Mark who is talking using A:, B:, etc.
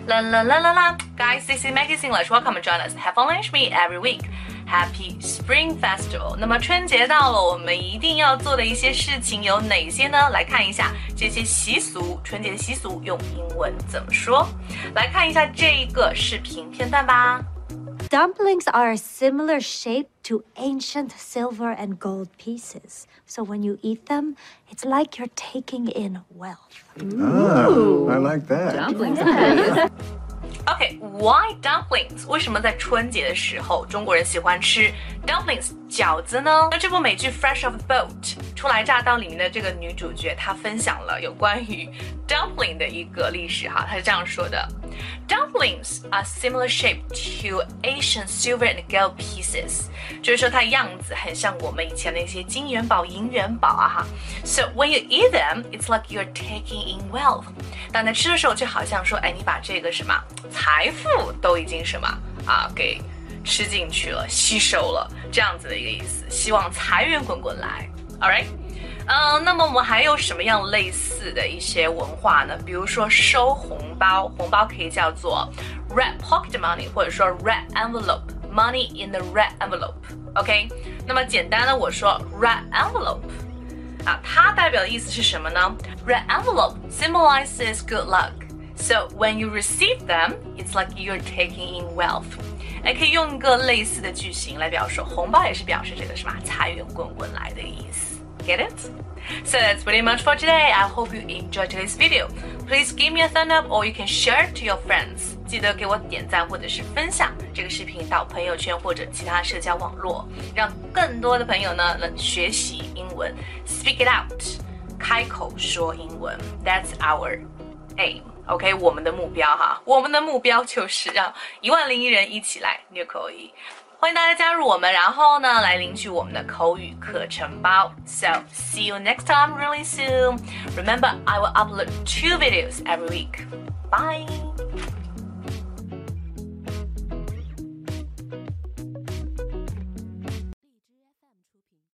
A: La la la la la. Guys, this is Maggie English. Welcome and join us. Have fun with me every week. Happy Spring Festival. 那么春节到了，我们一定要做的一些事情有哪些呢？来看一下这些习俗，春节的习俗用英文怎么说？来看一下这一个视频片段吧。
B: Dumplings are a similar shape to ancient silver and gold pieces. So when you eat them, it's like you're taking in wealth.
C: Ooh, I like that.
D: Dumplings.
A: Okay, why dumplings? 为什么在春节的时候中国人喜欢吃 dumplings 饺子呢？那这部美剧 Fresh Off the Boat 初来乍到里面的这个女主角，她分享了有关于 dumpling 的一个历史哈，她是这样说的 ：Dumplings are similar shape to Asian silver and gold pieces， 就是说它样子很像我们以前的一些金元宝、银元宝啊哈。So when you eat them, it's like you're taking in wealth。当你吃的时候，就好像说，哎，你把这个什么财富都已经什么啊给吃进去了，吸收了，这样子的一个意思。希望财源滚滚来 ，all right？ 那么我们还有什么样类似的一些文化呢？比如说收红包，红包可以叫做 red pocket money， 或者说 red envelope，money in the red envelope。OK， 那么简单的我说 red envelope。啊，它代表的意思是什么呢？ Red envelope symbolizes good luck. So when you receive them, it's like you're taking in wealth. 可以用一个类似的句型来表示，红包也是表示这个什么财源滚滚来的意思。Get it? So that's pretty much for today. I hope you enjoyed today's video. Please give me a thumb up or you can share it to your friends. 记得给我点赞或者是分享这个视频到朋友圈或者其他社交网络，让更多的朋友呢能学习英文 ，speak it out， 开口说英文 ，That's our aim。OK， 我们的目标哈，我们的目标就是让10001人一起来虐口语。欢迎大家加入我们，然后呢，来领取我们的口语课程包。So see you next time really soon. Remember, I will upload 2 videos every week. Bye.